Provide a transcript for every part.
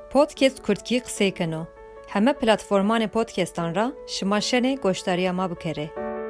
پودکست کردکی قسەی کنو همه پلتفرمان پودکستان را شما شنه گوشتاری ما بکره.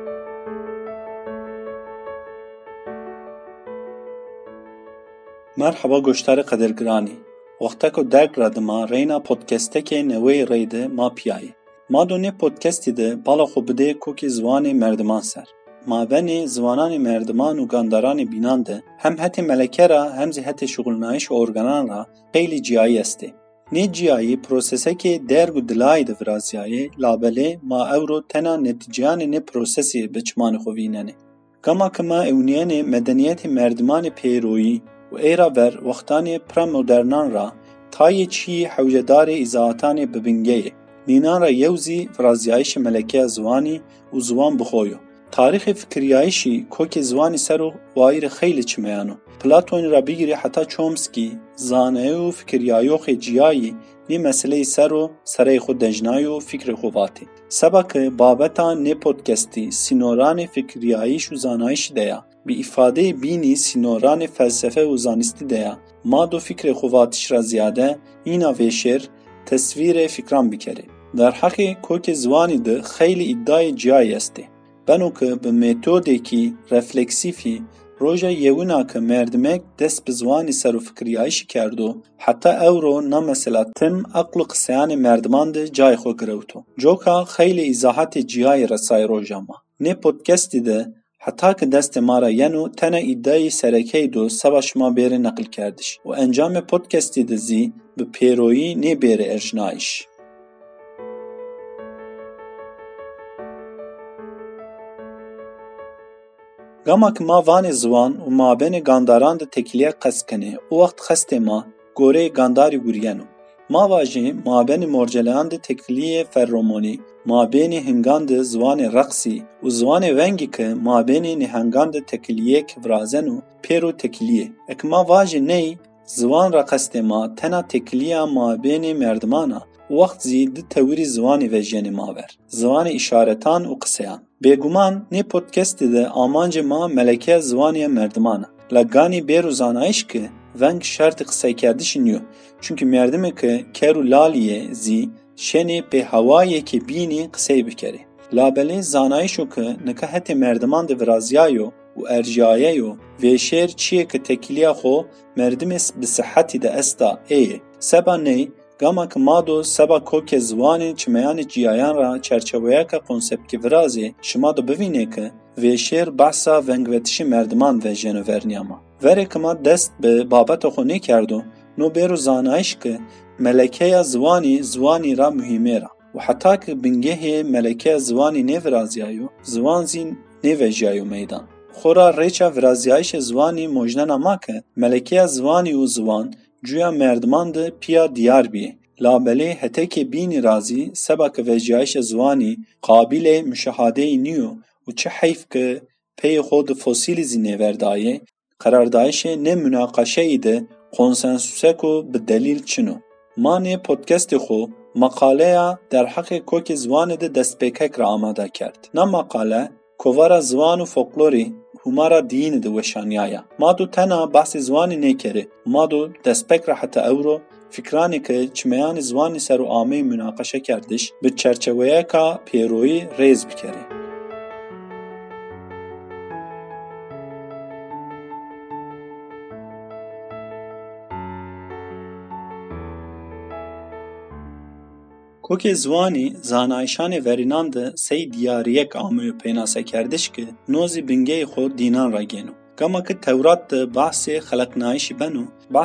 مرحبا گوشتار قدرگرانی. وقتا که درک رد ما رینا پودکسته که نوی ریده ما پیایی. ما دونه پودکستی ده بالا خو بده کوکی زوان مردمان سر. ما بین زوانان مردمان و گانداران بینانده هم حتی ملکه را هم زی حتی شغلنایش و ارگانان را خیلی جیایی استه. نه جیایی پروسسه که درگ و دلای ده ورازیایی لابله ما اورو تنا نتیجان نه پروسسی بچمان خوبیننه. کما کما اونیان مدنیت مردمان پیرویی و ایرا بر وقتان پرمودرنان را تای چی حوجدار ازاعتان ببنگیه. نینان را یوزی ورازیایش ملکه زوانی و زوان بخویو. تاریخ فکریایشی کوک زوانی سرو وایر خیلی چمیانو. پلاتون را بگیری حتی چومسکی زانه و فکریایو خیجیایی نی مسئله سرو سره خود دجنایو فکر خواتی. سبک بابتان نه پودکستی سینوران فکریایش و زانایش دیا. بی ifade بینی سینوران فلسفه و زانستی دیا. ما دو فکر خواتیش را زیاده اینا ویشر تصویر فکران بکره. در حقی کوک زوانی ده خیلی ادعای جایی استه. بنو که به متدی که رفلکسیفی روژا یونا که مردمک دست به زوانی سر و فکریایش کردو حتی اورو نمثلا تم عقل قسیان مردمان ده جای خو گروتو. جوکا خیلی ایزاحت جیای رسای روژا ما. نه پودکستی ده حتی که دست ما را ینو تنه ایدای سرکی دو سباش ما بیر نقل کردش و انجام پودکستی ده زی به پیرویی نه بیر ارجنایش. گاما که ما وان زوان و ما بین گانداران ده تکلیه قصد کنه او وقت خست ما گوره گانداری گوریانو. ما واجه ما بین مرجلان ده تکلیه فرومونی ما بین هنگان ده زوان رقصی و زوان ونگی که ما بین نهنگان ده تکلیه کورازنو پیرو تکلیه. اک ما واجه نی زوان را قصد ما تنا تکلیه ما بین مردمانا وقت زید توری زوانی وجین ما بر. زوان اشارتان و قصیان. بگومان نه پودکست ده آمانج ما ملکه زوانی مردمانه. لگانی بیرو زانایش که ونگ شرط قصه کردش نیو. چونکه مردمه که کرو لالیه زی شنی به هوایی که بینی قصه بکره. لابله زانایشو که نکه حتی مردمان ده ورازیایو و ارجاییو و شیر چیه که تکلیه خو مردمس به صحتی ده استا ایه. سبا نی گاما که ما دو سبا کوک زوانی چمیان جیایان را چرچویا که کنسپت که ورازی شما دو ببینه که ویشیر بحثا ونگوتشی مردمان و جنوورنیاما. وره که ما دست به بابت خونه کردو نو بیرو زانایش که ملکه زوانی را مهمه را و حتی که بنگه ملکه زوانی نورازیایو زوان زین نوجیایو میدان. خورا ریچا ورازیایش زوانی مجنن اما که ملکه زوانی و زوان جویا مردمان ده پیا دیار بیه. لابله حتی که بینی رازی سبا که وجیایش زوانی قابل مشاهده نیو و چه حیف که پی خود فسیلی زینه وردایه قراردایش نه مناقشه ایده کنسنسوسه کو به دلیل چنو. ما نه پودکست خو مقاله در حق کوک زوان ده دست پیکک را آماده کرد. نه مقاله کوارا زوان و فولکلوری همارا دین ده وشانیایا. ما دو تنها بحث زوانی نکره. ما دو دست پیک را حتی اورو فکرانی که چمیان زوانی سر و آمی مناقشه کردش به چرچویه که پیروی ریز بکره. کوک زوانی زانایشان ورینان ده سی دیاریک آمیو پیناسه کردش که نوزی بنگه خود دینان را گینو. کما که تورات ده بحث خلقنایشی بنو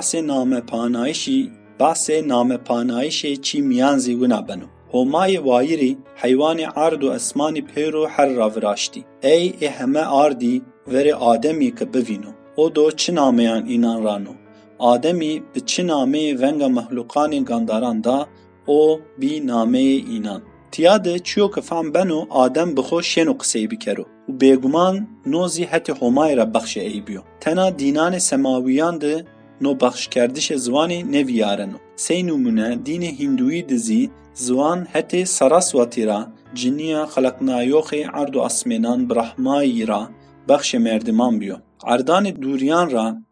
بحث نام پانایشی چی میانزی ونا بنو. همای وایری حیوان عرض و اسمانی پیرو هر را وراشتی. ای همه عرضی وری آدمی که ببینو. او دو چه نامیان اینان رانو. آدمی به چه نامی ونگا مخلوقانی گانداران دا او بی نامه اینان. تیاده چیو که فهم بنو آدم بخو شنو قصه بکرو و بیگمان نوزی حتی همای را بخش ای بیو. تنا دینان سماویان ده نو بخش کردش زوانی نویارنو. سی نمونه دین هندوی دزی زوان حتی سراسواتی را جنیا خلقنایوخ عرض و اسمینان برحمایی را بخش مردمان بیو. عردان دوریان را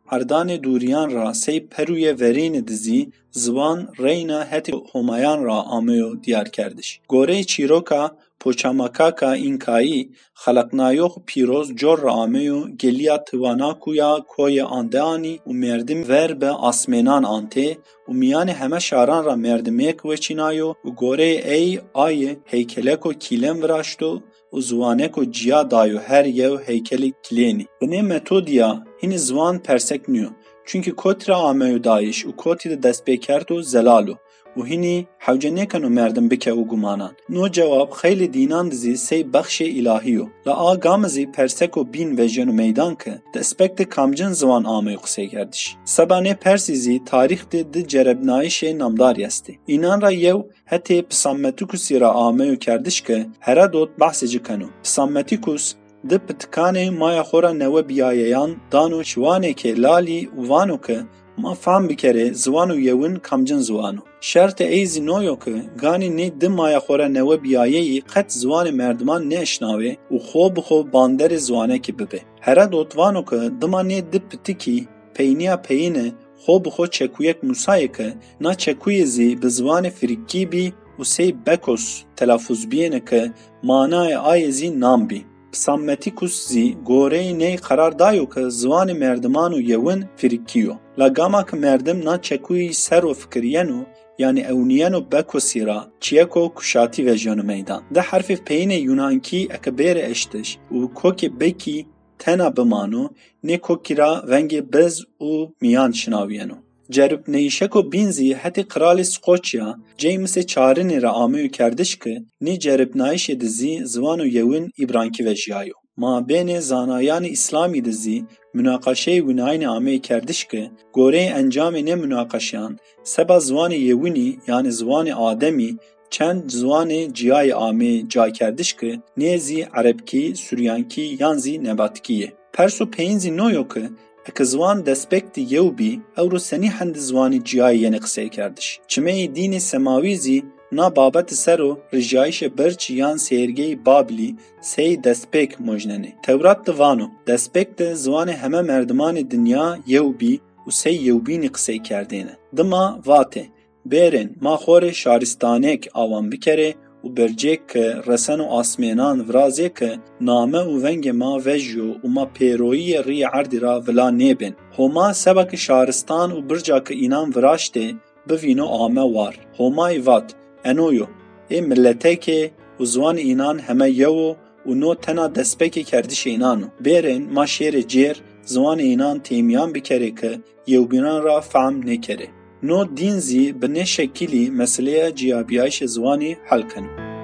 عردان دوریان را سی پروی ورین دزی زوان رینا هتی همایان را آمیو دیار کردش. گوره چیروکا پوچاماکاکا اینکایی خلقنایوخ پیروز جور را آمیو گلیا تواناکویا کوی آندهانی و مردم ور به آسمینان آنته و میان همه شاران را مردمیک وچینایو و گوره ای آی هیکلکو کیلم وراشتو و زوانکو جیا دایو هر یو هیکل کلینی. بنه متودیا هین زوان پرسک نیو چونکه کت را آمیو دایش و کتی دست بکرد و زلالو و هینی حوجه نکنو مردم بکه و گمانان. نو جواب خیلی دینان دزی سی بخش الهیو لا گامزی پرسکو بین و جنو میدان که دسپکت کامجن زوان آمیو قصه کردش. سبانه پرسیزی تاریخ ده جربنایش نامداری استی. اینان را یو حتی پسامتیکوسی را آمیو کردش که هرادوت بحثی کنو. پسامتیکوس ده پتکانه مایا خورا نو بیاییان دانو شوانه که لالی وانو که ما فهم بکره زوانو یون کامجن زوانو. شرط ایزی نویو که گانی نه ده مایا خورا نو بیاییی قط زوان مردمان نشناوه و خوب باندر زوانه که ببه. هرادوت وانو که دمانه ده پتکی پینیا پینه خوب چکویک موسای که نا چکوی زی به زوان فریکی بی و سی بکوس تلافوز بینه که مانای آیزی نام بی. پسامتیکوس زی گوره نی قرار دایو که زوان مردمانو یون فریکیو. لگاما که مردم نا چکوی سر و فکرینو یعنی اونیانو بکوسی را چیکو کشاتی و جانو میدان. ده حرف پین یونانکی اکبر اشتش و کوک بکی تنا بمانو نه کوکی را ونگ بز و میان شناوینو. جرب نیشکو بینزی حتی قرال سقوچیا جیمس چارنی را آمیو کردش که نی جرب نایش دزی زوانو یون ایبرانکی و جیایو. ما بین زانایان اسلامی دزی مناقشه وناین آمیو کردش که گوره انجام نه مناقشیان سبا زوان یونی یعنی زوان آدمی چند زوان جیای آمی جای کردش که نیزی عربکی، سوریانکی یانزی نباتکیه. پرسو پینزی نویو که اک زوان دسپکتی یو بی او رو سنی هند زوانی جیای ینی قصه کردش. چمه دین سماویزی نا بابت سرو رجایش برچ یان سیرگی بابلی سی دسپک مجننه. تورات دوانو دسپکت زوان همه مردمان دنیا یو بی و سی یو بینی قصه کردینه. دما واته بیرن ما خور شارستانک آوان بکره و برجک که رسن و آسمینان ورازه که نامه و ونگ ما وجو و ما پیروی ری عردی را ولا نیبن. هما سبک شارستان و برجا که اینان وراشته بوینو آمه وار. همای وات انویو ای ملته که و زوان اینان همه یو و نو تنا دسپک کردش اینانو. بیرن ما شیر جیر زوان اینان تیمیان بکره که یو بینان را فهم نکره. نو دینزی به نه شکلی مسئله جیابیایش زوانی حل کنو.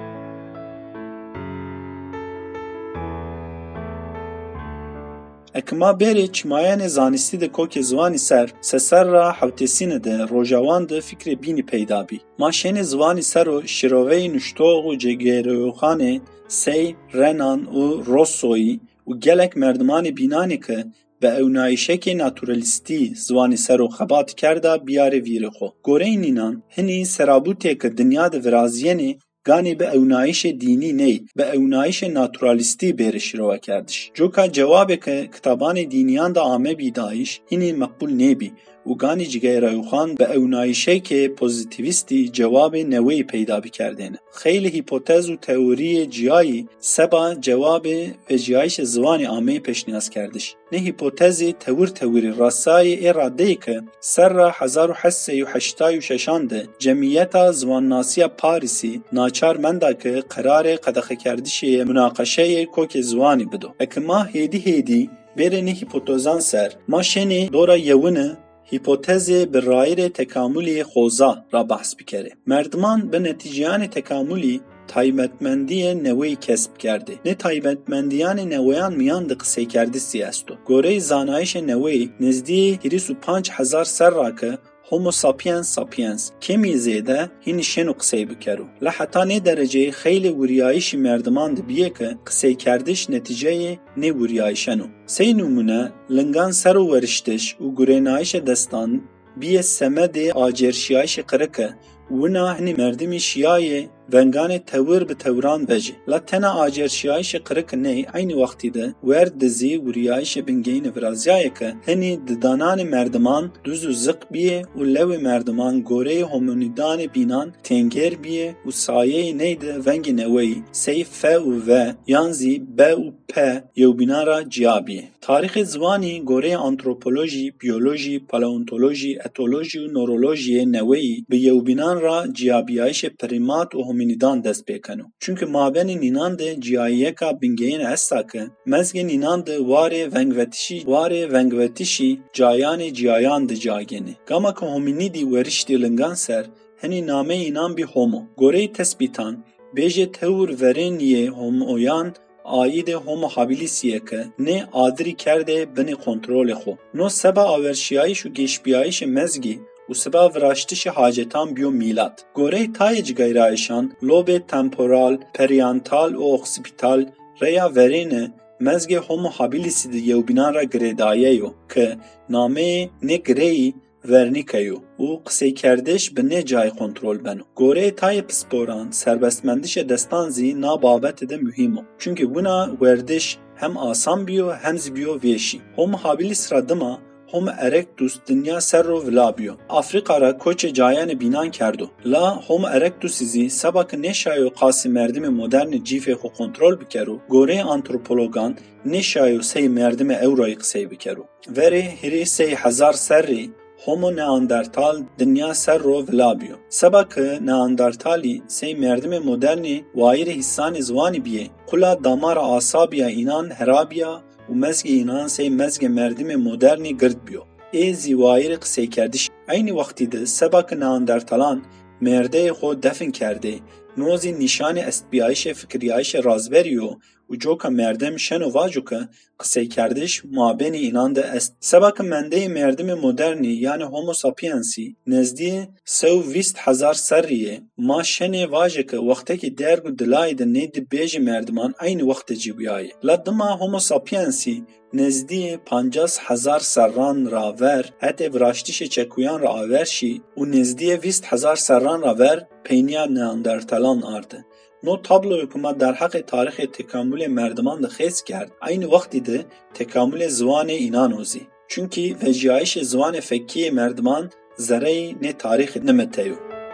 اکما بری چمایان زانستی ده کوک زوانی سر را حوتسین ده روژاوان ده فکر بینی پیدا بی. ماشین زوانی سر و شروعی نشتوغ و جگیروخانه سی رنان و روسوی و گلک مردمان بینانی که به اونایشک ناتورالیستی زوانی سر و خبات کرده بیاره ویره خو. گوره اینان هنی سرابوته که دنیا ده ورازینه گانی به اونایش دینی نی به اونایش ناتورالیستی بیرش رو کردش. جو که جوابه که کتابان دینیان دا آمه بیدایش هنی مقبول نبی و گانی جگه رایوخان به اونایشه که پوزیتیویستی جواب نوی پیدا بکردن. خیلی هیپوتز و تئوری جیایی سبا جواب و جیایش زوان آمه پیشنهاد کردش. نه هیپوتزی توری راسای اراده که سر را 1886 جمعیت زوان ناسی پاریسی ناچار منده که قرار قدخه کردش مناقشه کوک زوانی بدو. اکما هیدی برنی هیپوتزان سر ما شنی دورا یونه هیپوتز به رایر تکاملی خوزا را بحث بکره. مردمان به نتیجیان تکاملی تایبتمندی نوی کسب کرده. نه تایبتمندیان نویان میان ده قصه کرده سیاستو. گوره زانایش نوی نزدی 25,000 سر را که هومو ساپینس کمی زیده هین شنو قصه بکرو. لحتا نه درجه خیلی وریایش مردمان ده بیه که قصه کردش نتیجه نه وریایشنو. سی نمونه لنگان سر و ورشتش و گرینایش دستان بیه سمد آجرشیایش قرکه ونا هنی مردمی شیای ونگان تور به توران وجه لاتنا آجرشیایش قرق نی عین وقتی ده ورد دزی وریایش بنگین ورازیای که هنی ددانان مردمان دوز و زق بیه و لو مردمان گوره هومونیدان بینان تنگر بیه و سایه نیده ونگ نوی سیف ف و یانزی ب و پ یو بینا را جیابیه. تاریخ زوانی گوره آنتروپولوژی، بیولوژی، پالئونتولوژی، اتولوژی و نورولوژی نوی به یو بینان را جیابیایش پریمات و هومینیدان دست بکنو. چونکه مابین نینان ده جیاییه که بینگین استا که مزگ نینان ده واره ونگوتیشی جایان جیایان ده جاگینه. گاما که هومینیدی ورشتی لنگان سر هنی نامه اینان بی هومو. گوره تسبیتان بیجه تور ورینیه هومویان آیید هومو هابیلیسیه که نه آدری کرده بین کنترل خو. نو سبا آورشیایش و گیشبیایش مزگی و سبا وراشتش حاجتان بیو میلاد. گوره تایج گیرایشان لوب تمپورال، پریانتال و اکسیپیتال ریا ورینه مزگ هومو هابیلیسی ده یو بینان را گریداییو که نامه نه گری ورنیکیو و قصه کردش به نه جای کنترل بنو. گوره تای پسپوران سربستمندش دستانزی نا بابت ده مهمو. چونکه بونا وردش هم آسان بیو هم زبیو ویشی. هم حابیلیس را دما هم ارکتوس دنیا سر رو ولا بیو. آفریقا را کوچ جایان بینان کردو. لا هم ارکتوسیزی سبک نشایو قاسی مردم مدرن جیفه خو کنترل بکرو. گوره آنتروپولوگان نشایو سی مردم اورای قصه بکرو. وره هری 3000 سری هومو نئاندرتال دنیا سر رو ولا بیو. سبک نئاندرتالی سی مردم مدرنی وایر حسان زوانی بیه. قلا دامار آسابیا اینان هرابیا و مزگ اینان سی مزگ مردم مدرنی گرد بیو. ایزی وایر قصه کردش. این وقتی ده سبک نئاندرتالان مرده خود دفن کرده. نوزی نشان استبیایش فکریایش رازبریو و جوکا مردم شنو واجو که قصه کردش مابین اینان ده است. سبک منده مردم مدرنی یعنی هومو ساپینسی نزدی 120,000 سریه ما شنه واجه که وقتی که درگو دلای ده نید بیج مردمان این وقت جیبیایه. لدما هومو ساپینسی نزدی 50,000 سران راور حتی وراشتیش چکویان را آورشی و نزدی 20,000 سران راور پینیا نئاندرتالان آرده. نو تابلو حکومت در حق تاریخ تکامل مردمان ده خیز کرد. این وقتی ده تکامل زوان اینانوزی. چونکی وجیایش زوان فکی مردمان ذره نه تاریخ نمتیو.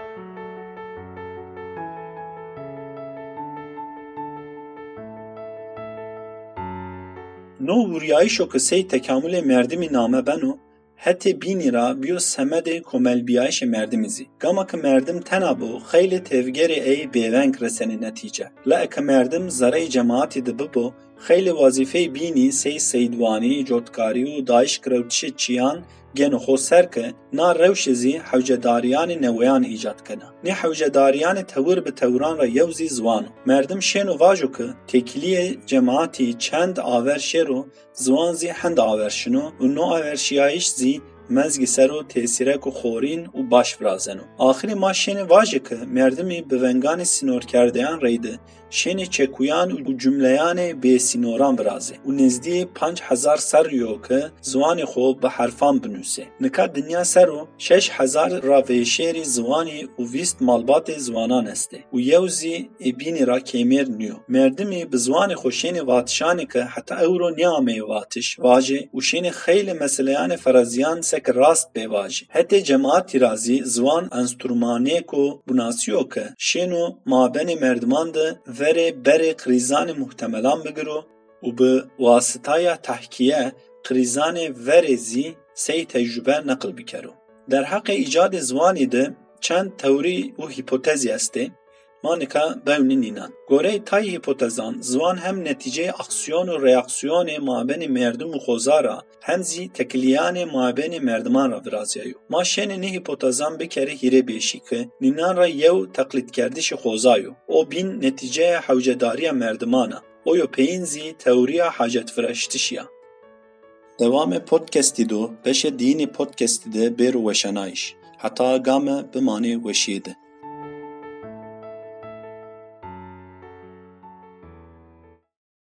نو وریایشو کسی تکامل مردمی نامه بنو حتی بینی را بیو سمد کمل بیایش مردمیزی. گاما که مردم تنابو خیلی تفگر ای بیونگ رسنی نتیجه. لا که مردم زره جماعتی ده ببو خیلی وظیفه بینی سی سیدوانی، جوتکاری و دایش کروتش چیان گنو خو سر که نا روشزی حوجداریان نویان ایجاد کنه. نه حوجداریان تور به توران را یوزی زوانو. مردم شنو واجو که تکلیه جماعتی چند آورشه رو زوان زی هند آورشنو و نو آورشیایش زی مزگی سر و تأثیره که خورین و باش برازنو. آخری ما شنه واجه که مردمی به ونگان سینور کردهان ریده شنه چکویان و جملیان به سینوران برازه و نزدی 5,000 سر یو که زوان خوب به حرفان بنوسه. نکه دنیا سر و 6,000 را ویشیری زوانی و 20 مالبات زوانان استه و یوزی بینی را کمیر نیو. مردمی به زوان خوشین واتشانی که حتی اورو نیامه واتش واجه و شنه خیلی مسئلیان فرازیان سک راست بواجه. حتی جماعتی رازی زوان انسترومانه کو بناسیو که شنو مابین مردمان ده وره بره قریزان محتملان بگرو و به واسطه تحکیه قریزان ورزی سی تجربه نقل بکرو. در حق ایجاد زوانی ده چند توری و هیپوتزی استه مانکا بونی نینان. گوره تای هیپوتزان زوان هم نتیجه اکسیون و ریاکسیون مابین مردم و خوزارا همزی تکلیان مابین مردمان را برازیایو. ما شن نه هیپوتزان بکره هیره بیشی که نینان را یو تقلید کردش خوزایو او بین نتیجه حوجداری مردمانا او یو پینزی تئوریا حاجت فرشتشیا. دوام پودکستی دو بشه دینی پودکستی ده بیر وشنایش حتی گام بمانه وشیده.